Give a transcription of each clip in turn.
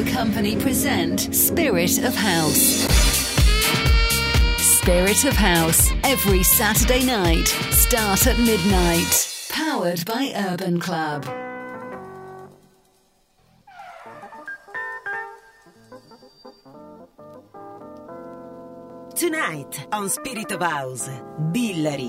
Radio Company present Spirit of House. Spirit of House, every Saturday night, start at midnight. Powered by Urban Club. Tonight on Spirit of House, Billary.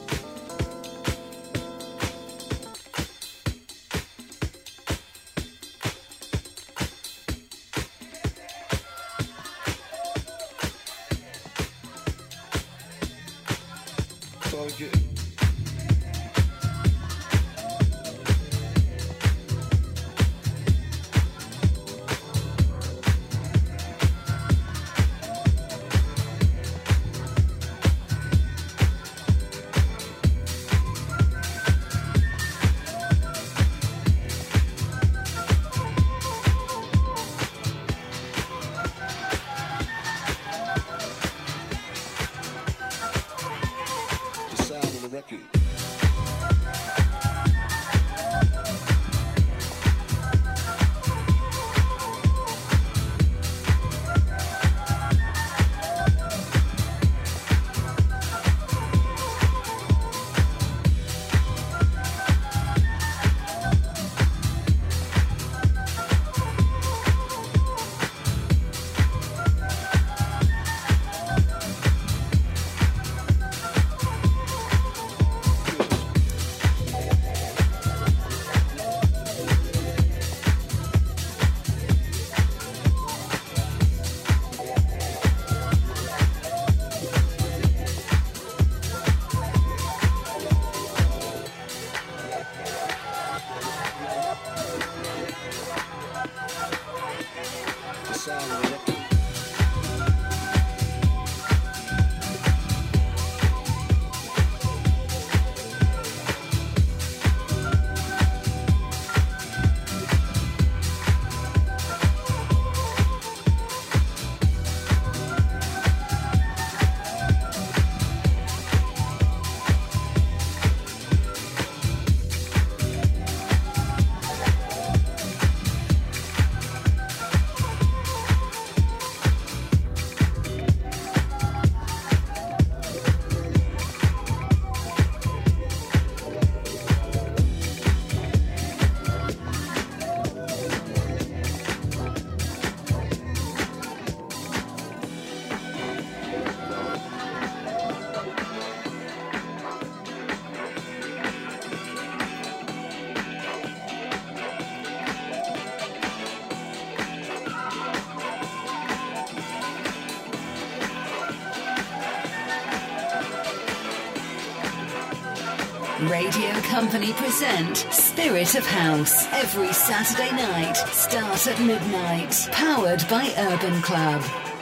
Radio Company present Spirit of House every Saturday night, start at midnight. Powered by Urban Club.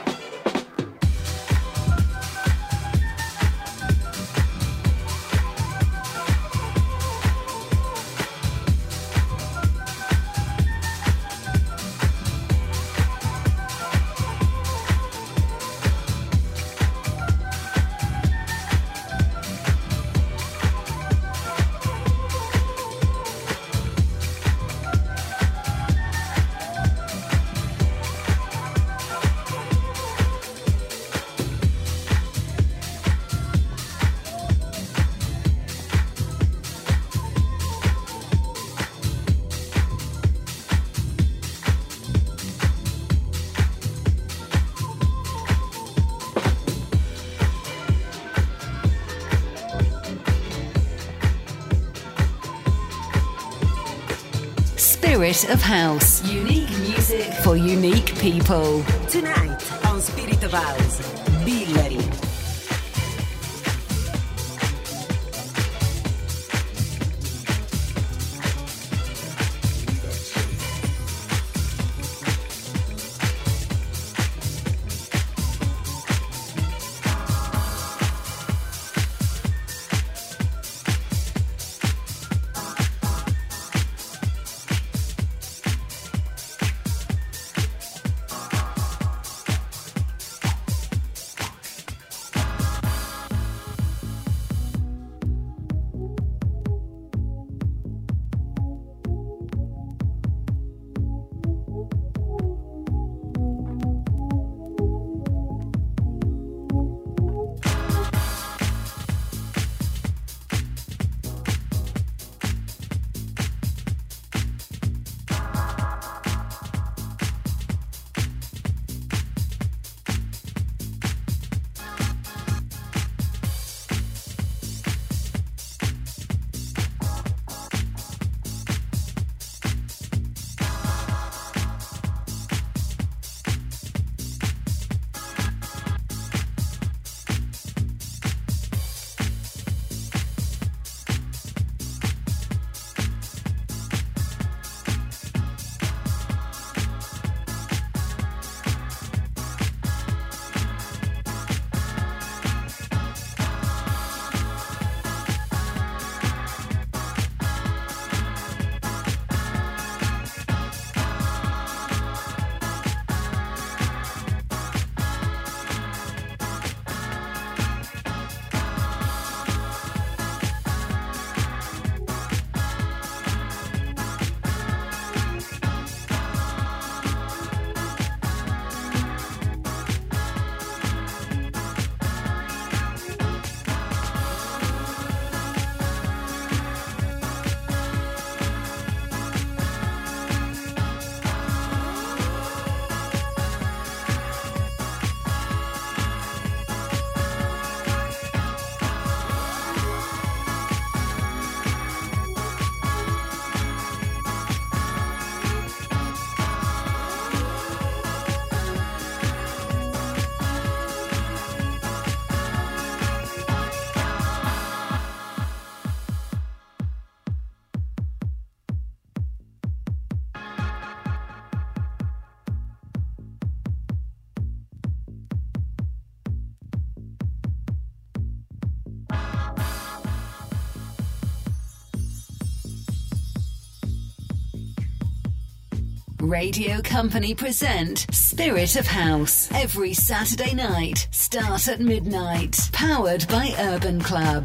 Spirit of House. Unique music for unique people. Tonight on Spirit of House, Billary. Radio Company present Spirit of House every Saturday night, start at midnight. Powered by Urban Club.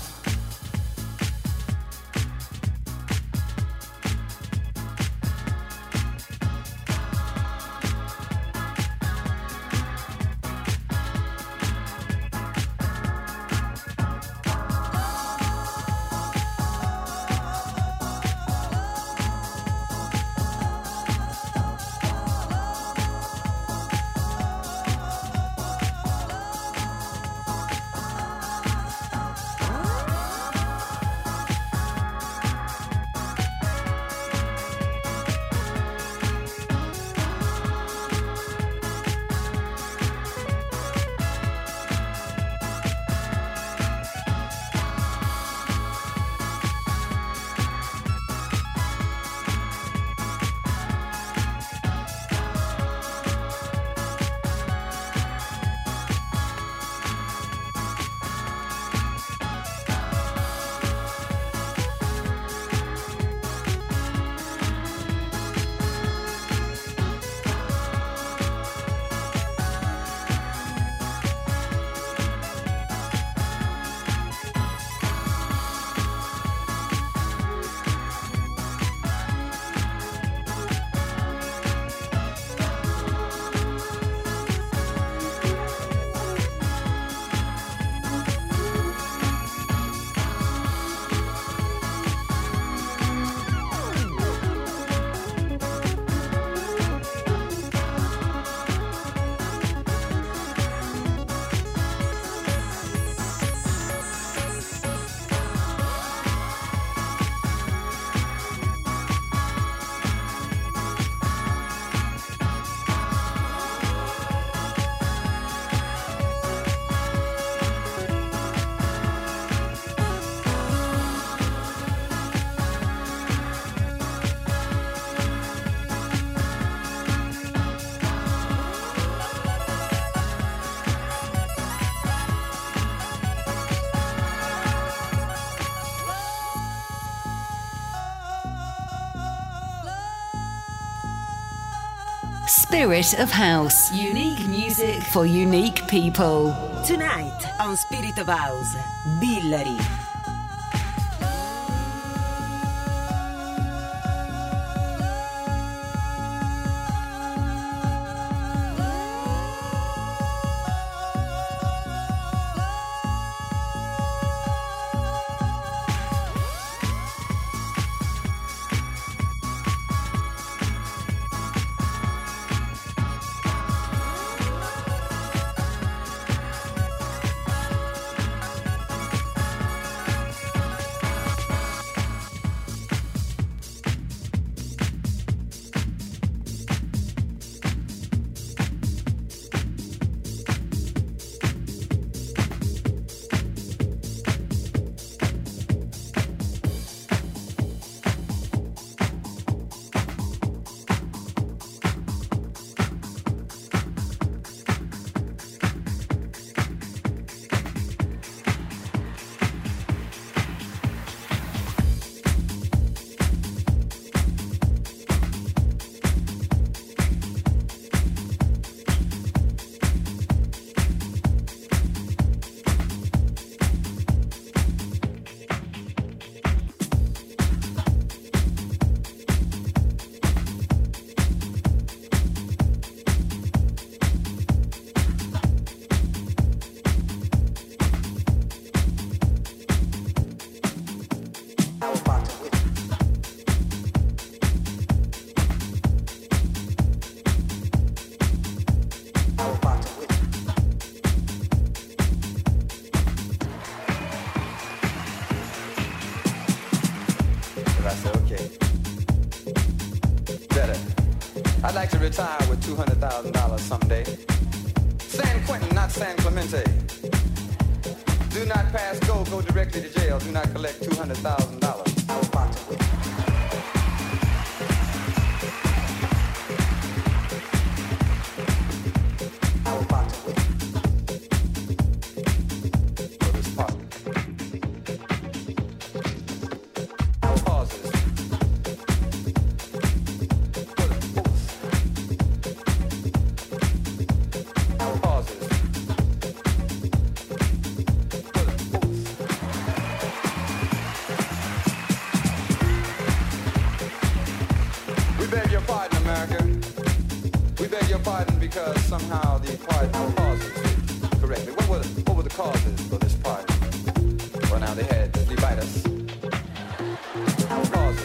Spirit of House. Unique music for unique people. Tonight on Spirit of House, Billary. I'd like to retire with $200,000 someday. San Quentin, not San Clemente. Do not pass go directly to jail. Do not collect $200,000. Pauses. beg your pardon, America. We beg your pardon because somehow the pardon causes it correctly. What were the causes for this pardon? Well, now they had to divide us. Causes.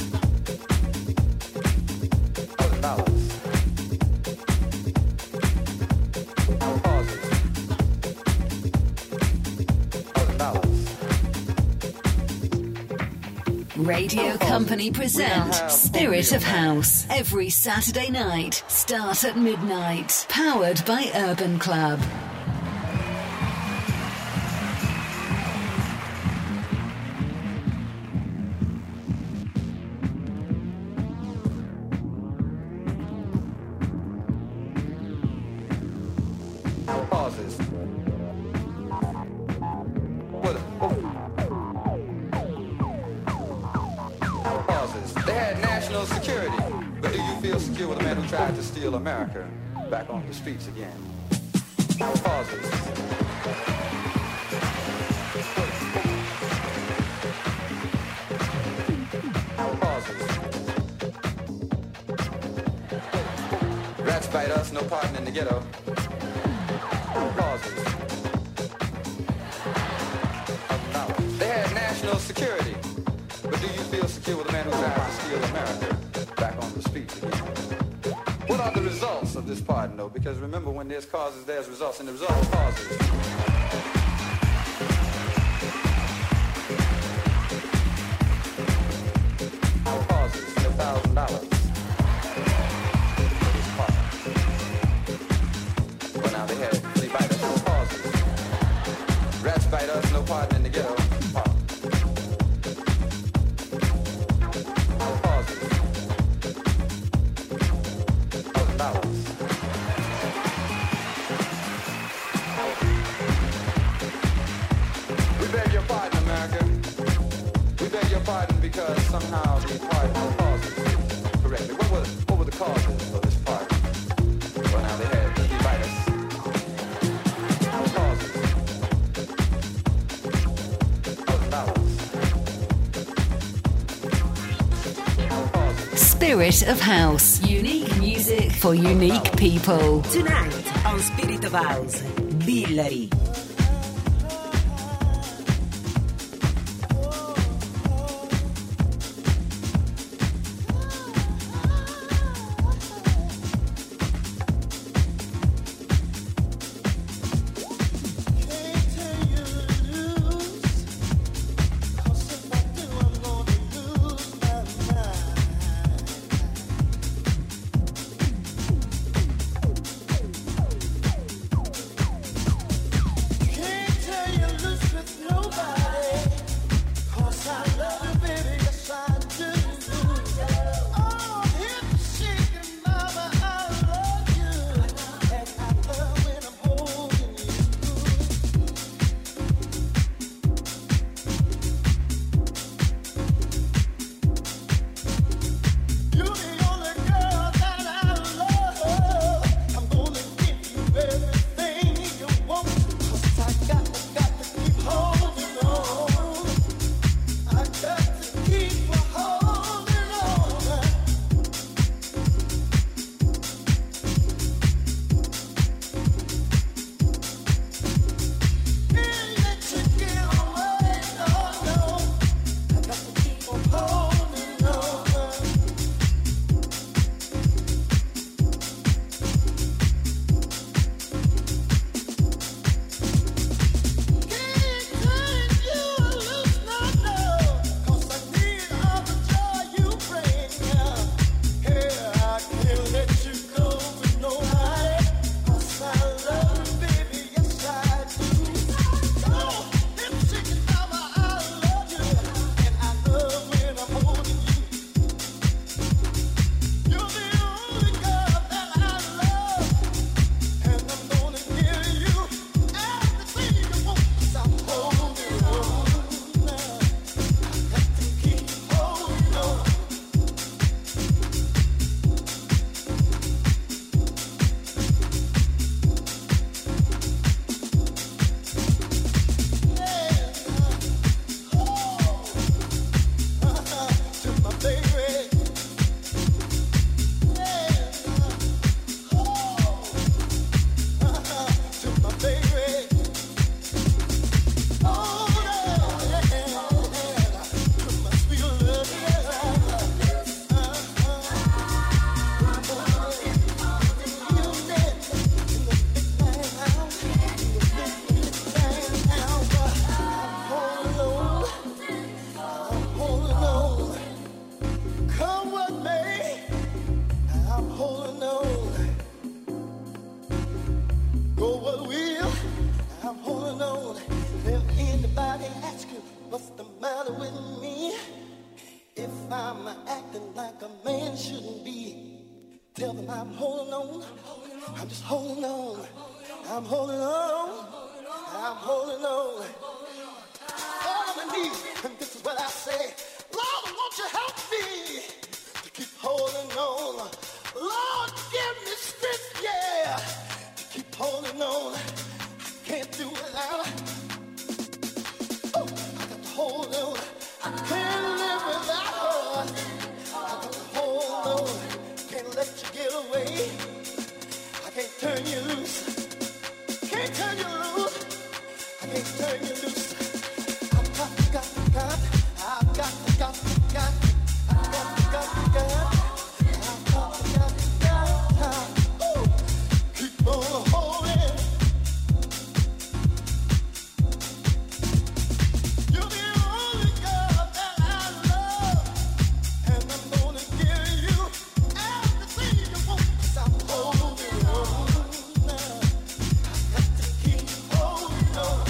$1,000. Causes. $1,000. Radio Company present Spirit of House every Saturday night, start at midnight. Powered by Urban Club. Tried to steal America back on the streets again. Pauses. Pauses. Rats bite us, no pardon in the ghetto. Pauses. They had national security, but do you feel secure with a man who tried to steal America back on the streets again? What are the results of this pardon, though? Because remember, when there's causes, there's results, and the result of causes. Causes, $1,000. Well, now they had flea biters, no causes. Rats bite us, no pardon in the ghetto. Because somehow the pardon causes it correctly. What were the causes for this pardon? Well, now they had to divide us. Causes. Spirit of House. Unique music for unique people. Tonight on Spirit of House, Billary. Tell them I'm holding on. I'm just holding on. I'm holding on. I'm holding on. All on my knees, and this is what I say. Lord, won't you help me to keep holding on? Lord, give me strength, yeah, to keep holding on. I can't do without. Oh, I got to hold on. I can't live without her. I got to hold on. Can't let you get away. I can't turn you loose. Can't turn you loose. I can't turn you loose. I've got. I've got. I've got. I've got. Keep on holding. You're the only girl that I love, and I'm gonna give you everything you want. 'Cause I'm holding on now. I got to keep holding on.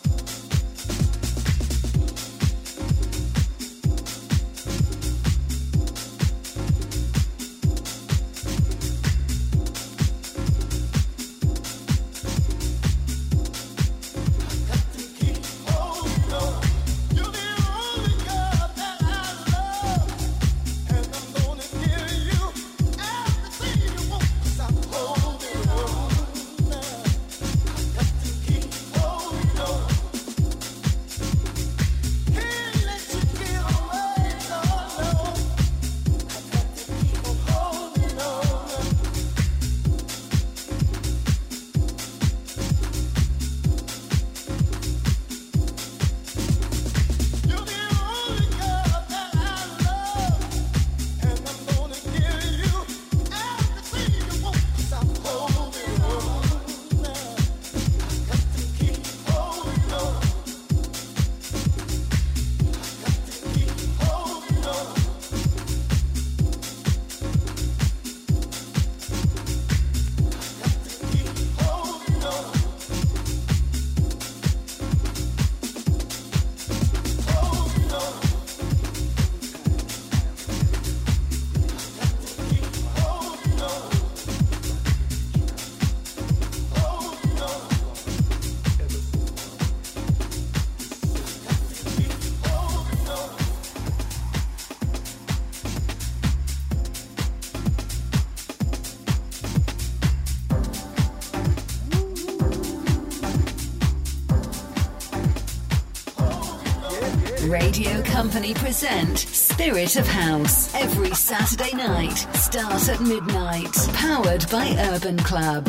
Radio Company present Spirit of House every Saturday night, start at midnight. Powered by Urban Club.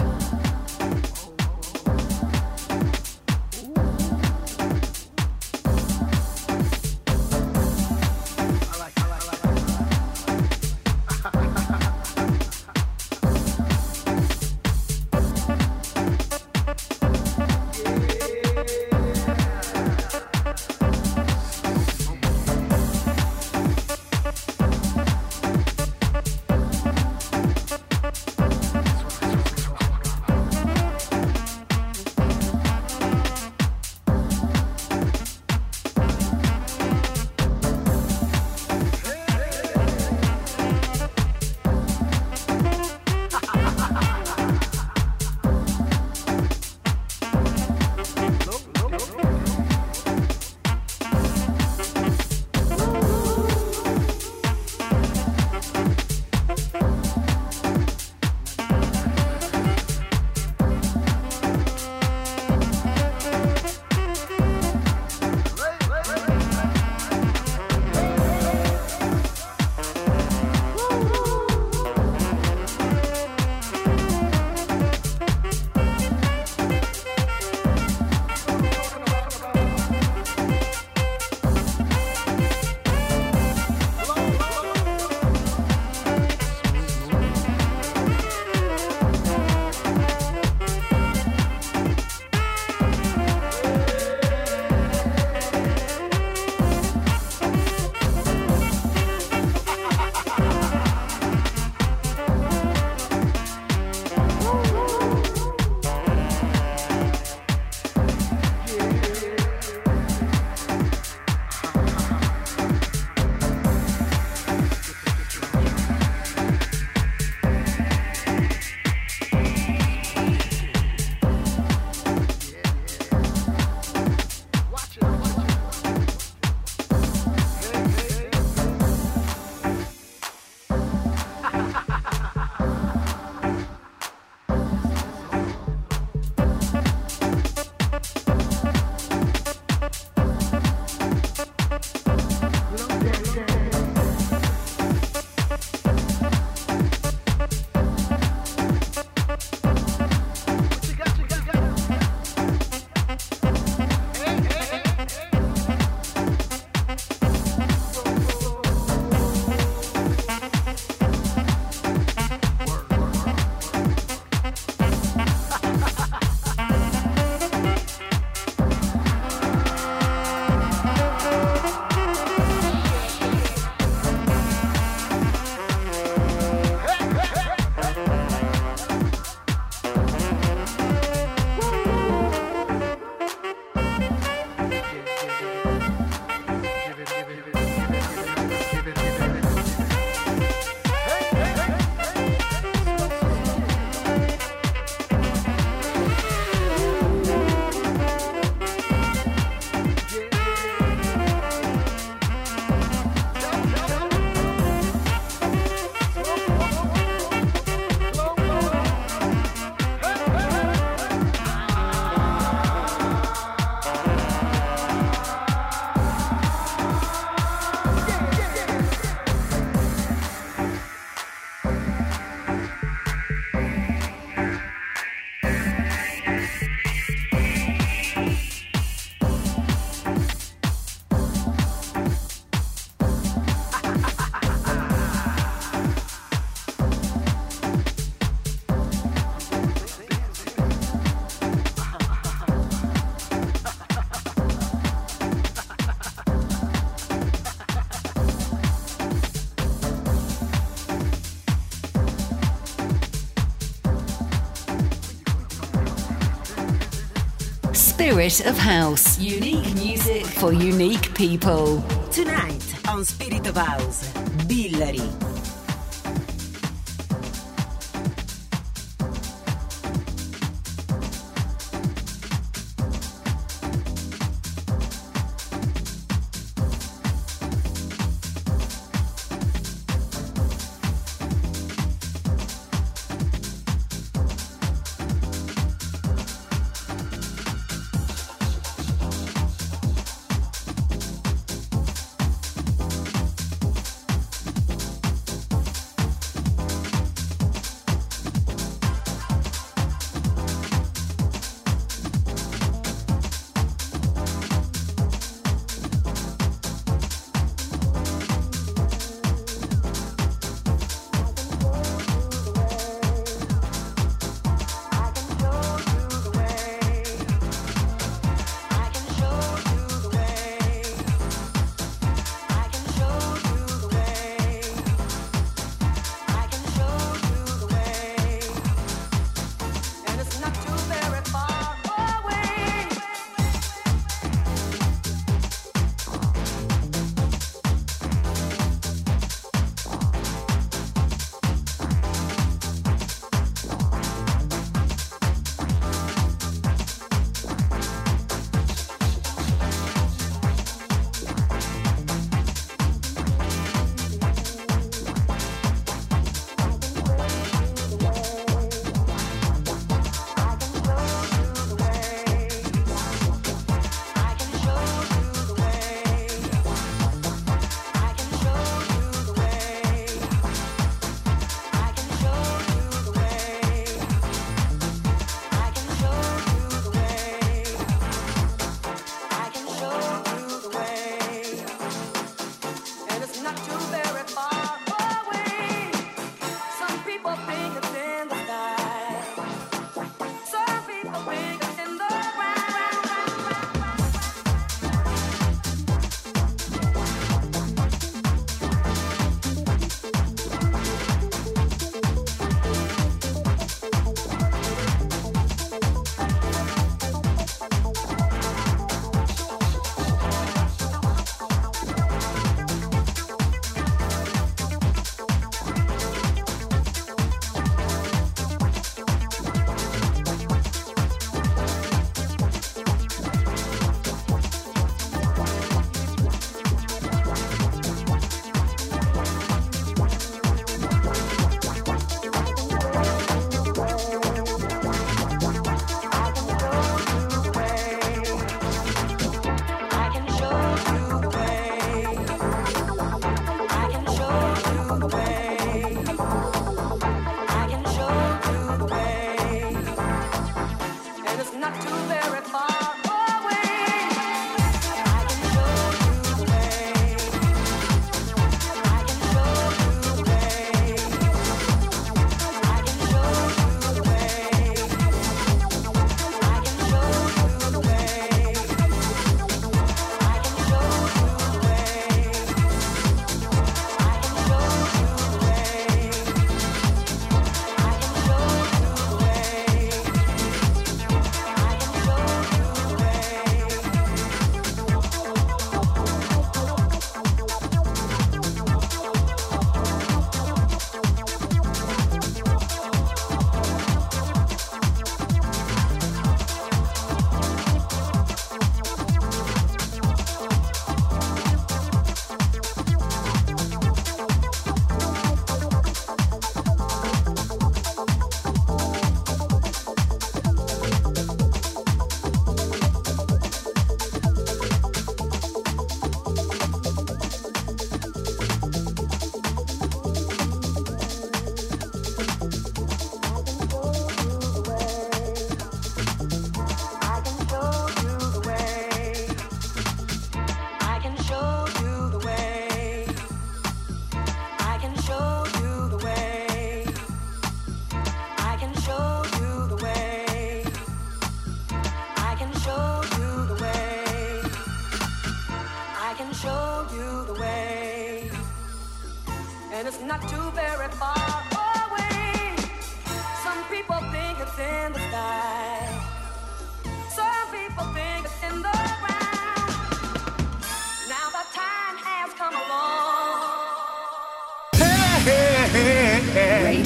Spirit of House. Unique music for unique people. Tonight on Spirit of House, Billary.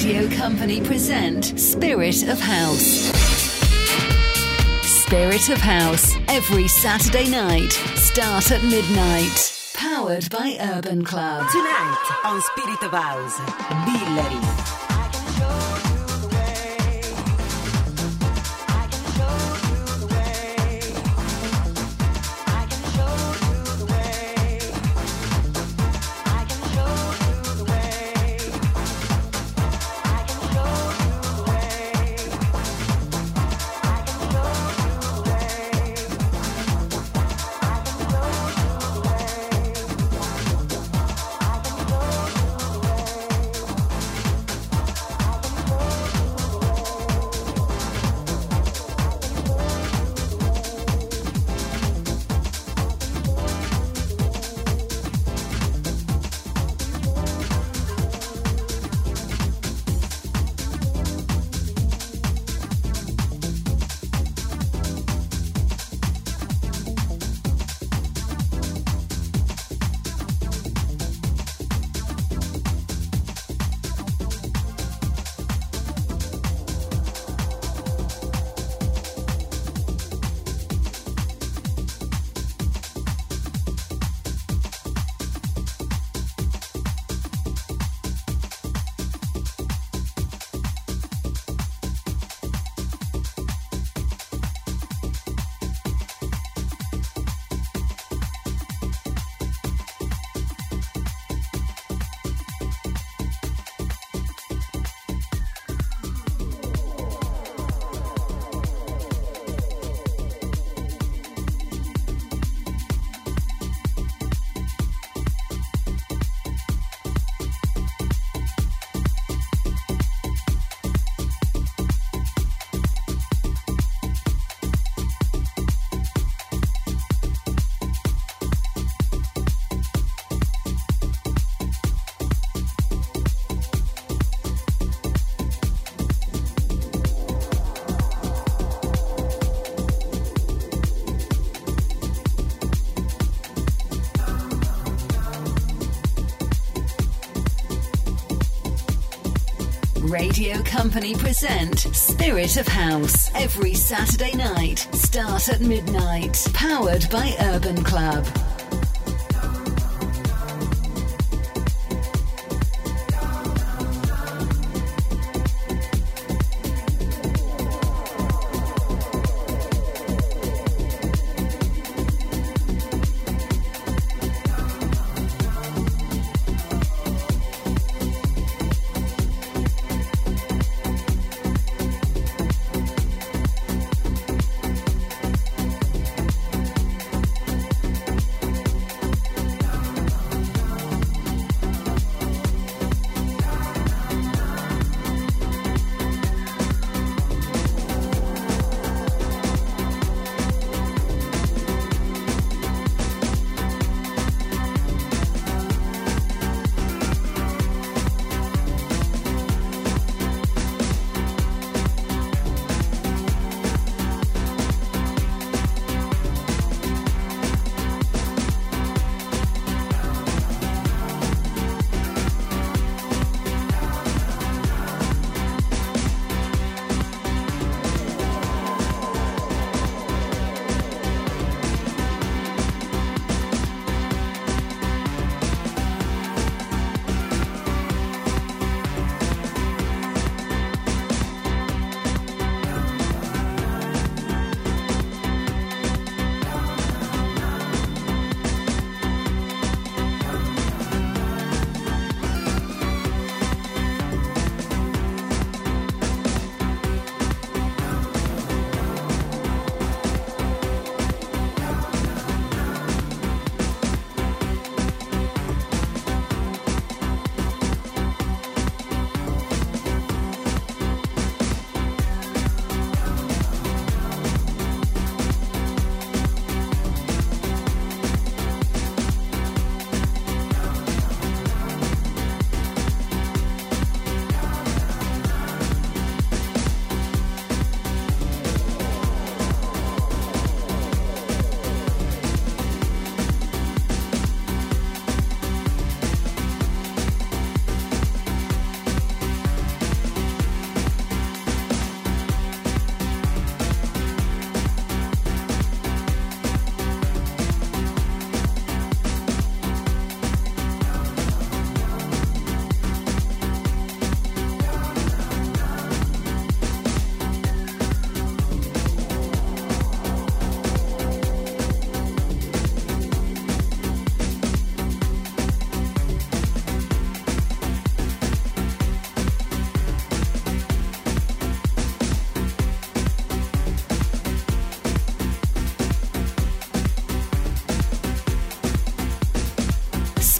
Radio Company present Spirit of House. Spirit of House, every Saturday night, start at midnight. Powered by Urban Club. Tonight on Spirit of House, Billery. Radio Company present Spirit of House every Saturday night, start at midnight. Powered by Urban Club.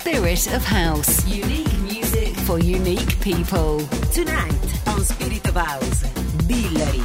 Spirit of House. Unique music for unique people. Tonight on Spirit of House, Billery.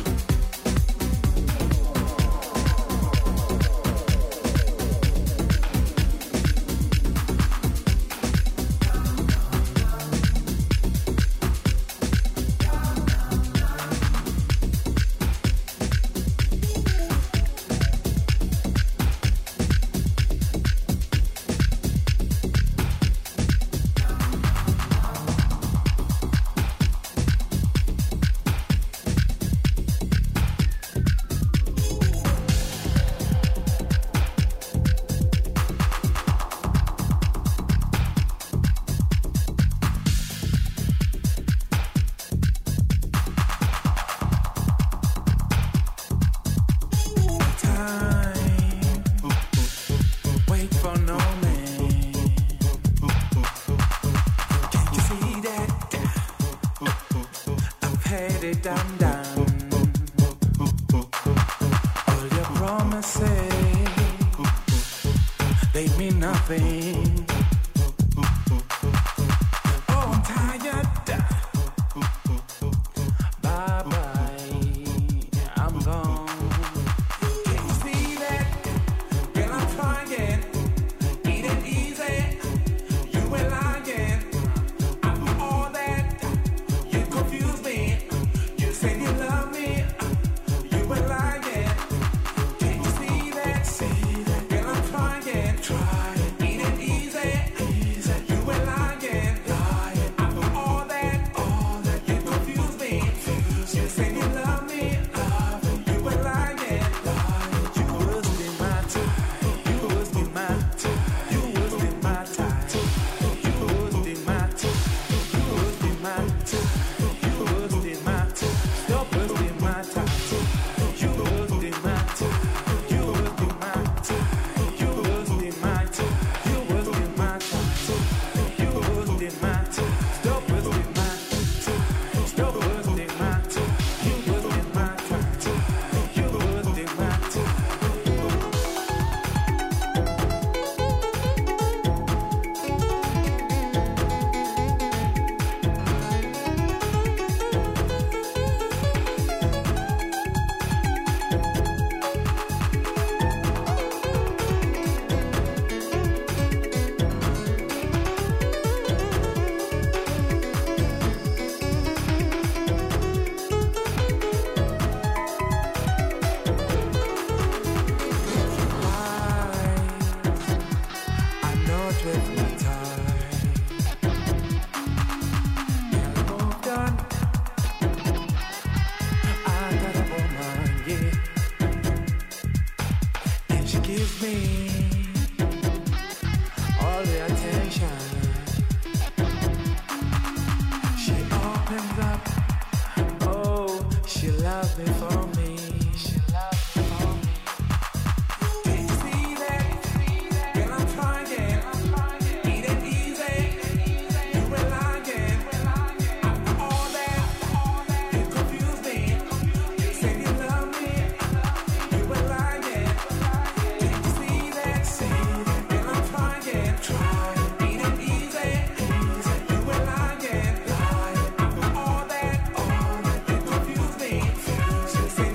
Say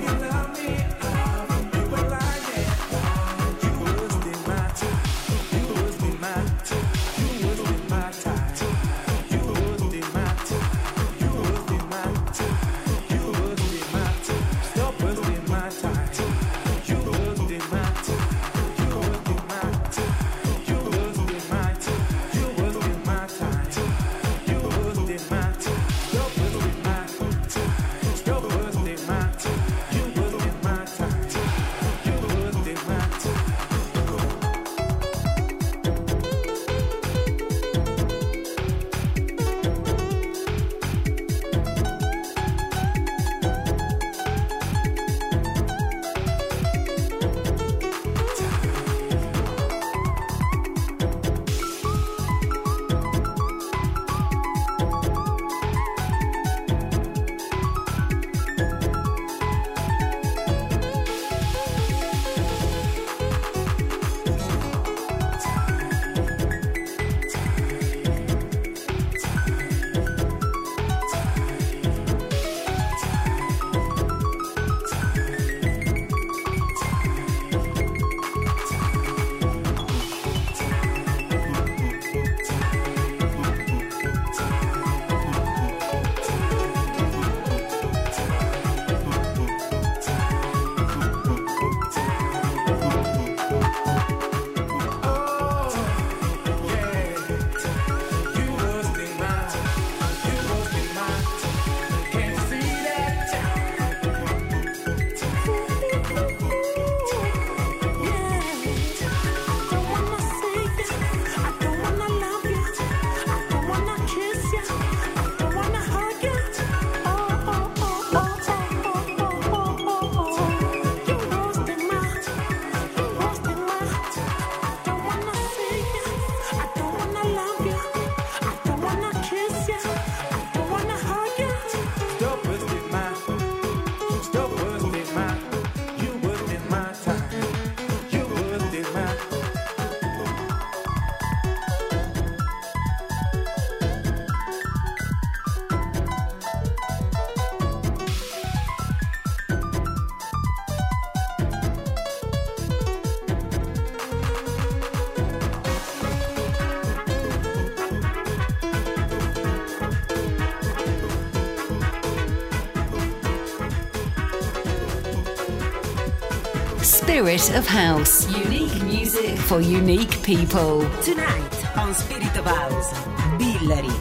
Spirit of House. Unique music for unique people. Tonight on Spirit of House, Billery.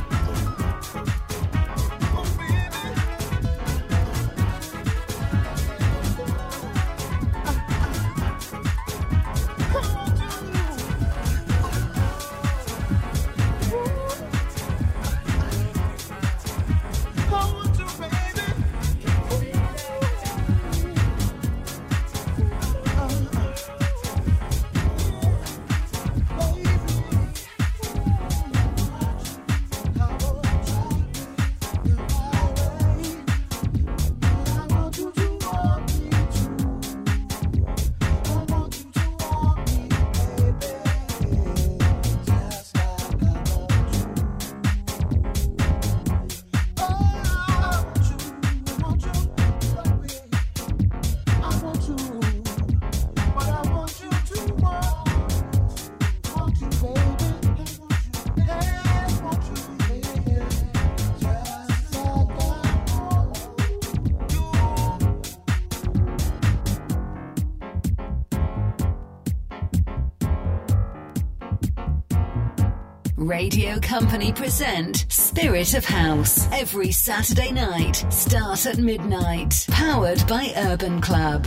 Radio Company present Spirit of House every Saturday night, start at midnight. Powered by Urban Club.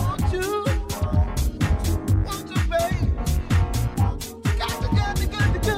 Got to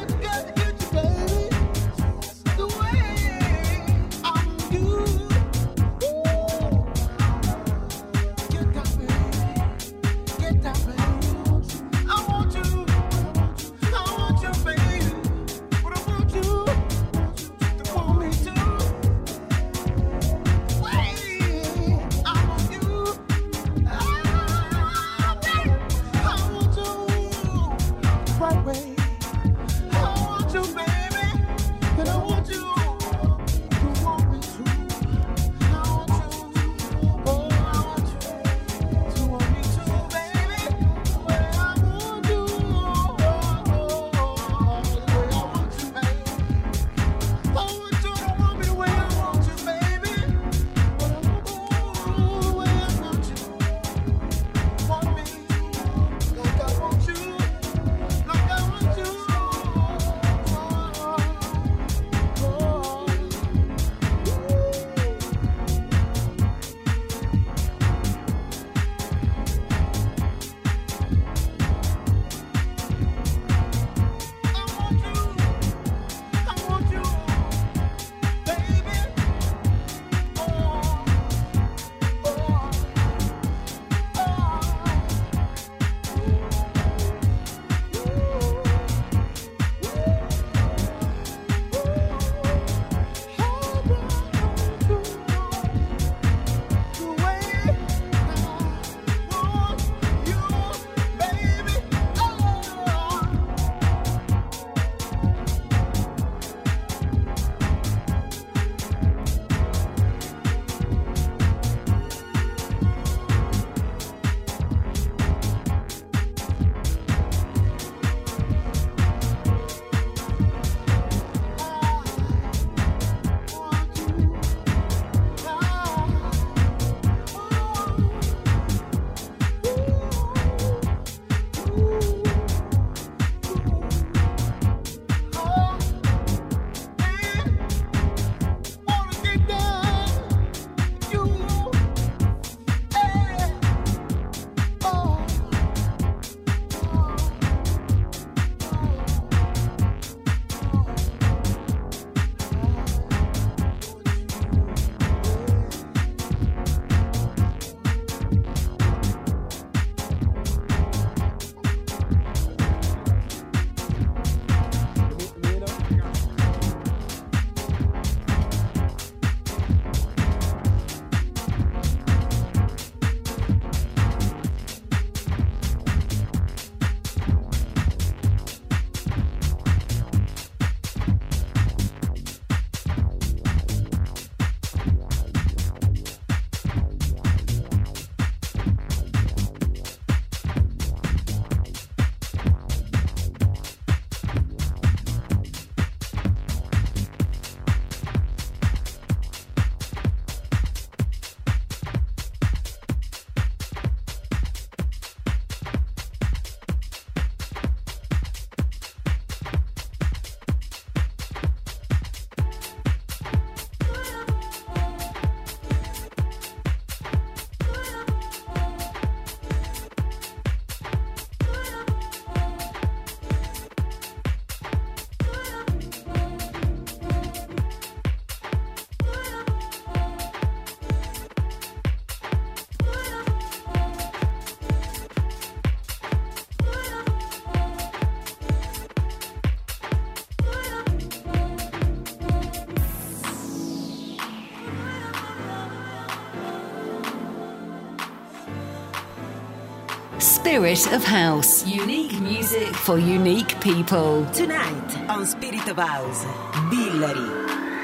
Spirit of House. Unique music for unique people. Tonight on Spirit of House, Billary.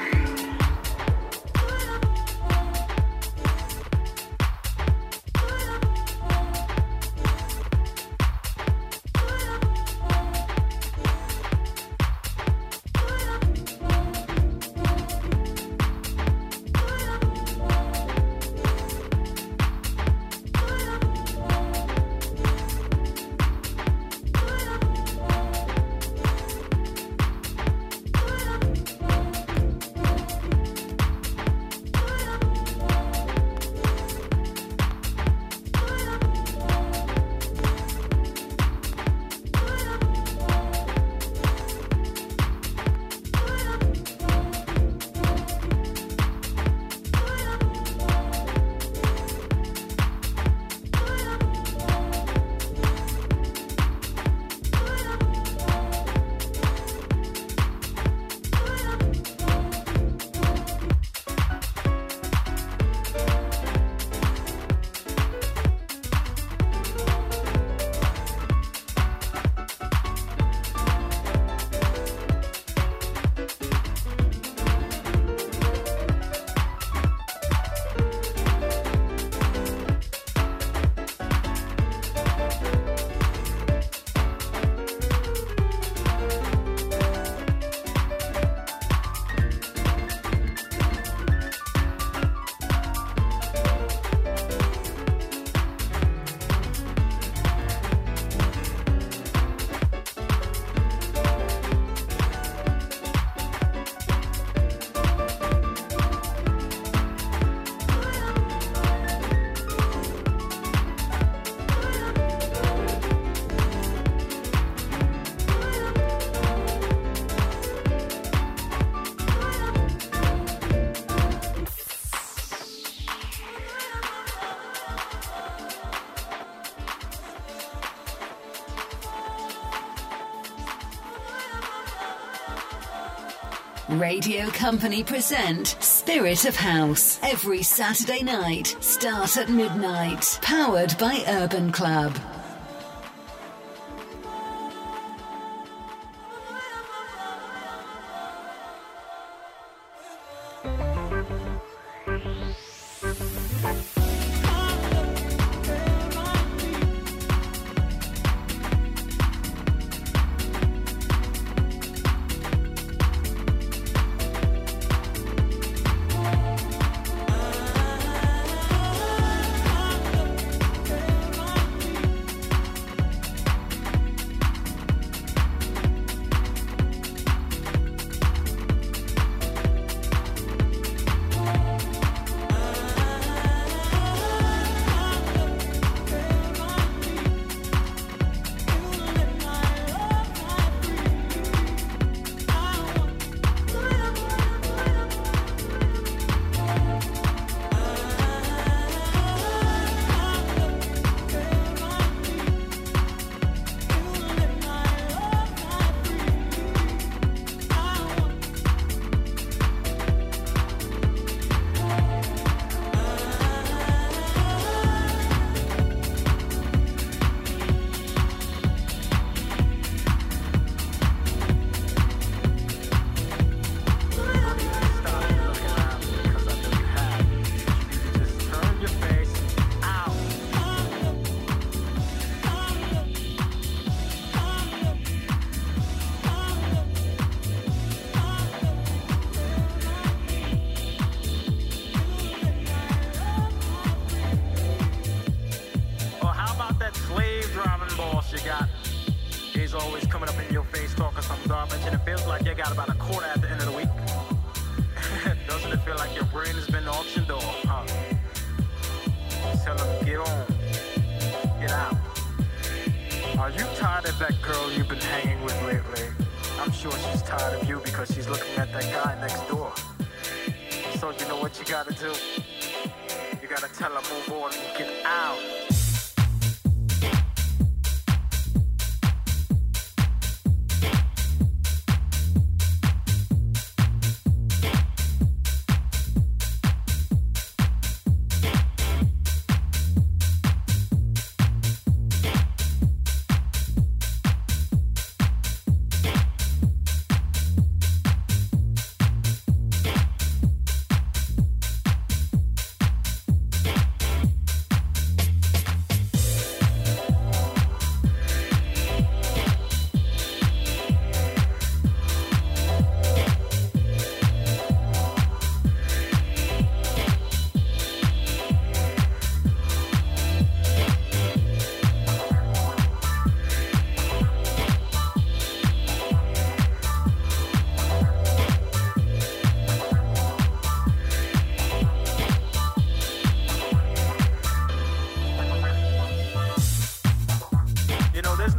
Radio Company present Spirit of House every Saturday night, start at midnight. Powered by Urban Club.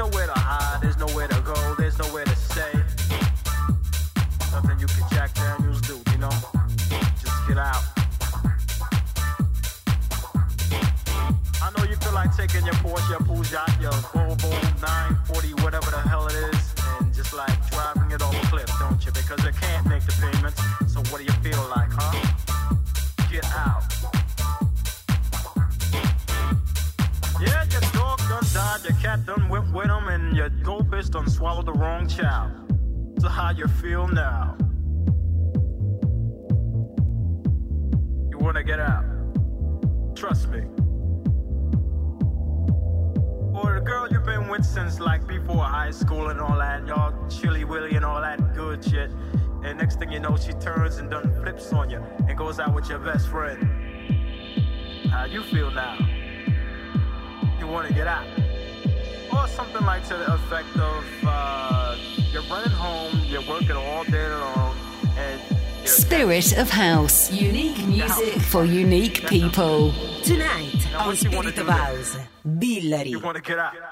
nowhere to hide, there's nowhere to go, there's nowhere to stay. Nothing you can Jack Daniels do, you know? Just get out. I know you feel like taking your Porsche, your Peugeot, your Volvo 940, whatever the hell it is, and just like driving it off a cliff, don't you? Because you can't make the payments, so what do you feel like, huh? Get out. Yeah, your dog done died, your cat done went with him, and your goldfish done swallowed the wrong child. So how you feel now? You wanna get out? Trust me. Or the girl you've been with since like before high school and all that, y'all chilly willy and all that good shit. And next thing you know, she turns and done flips on you and goes out with your best friend. How you feel now? You wanna get out? Or something like to the effect of, you're running home, you're working all day long, and Spirit of House. Unique music for unique people. Tonight on Spirit of House, Billary. You wanna get out?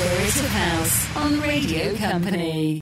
Spirit of House on Radio Company.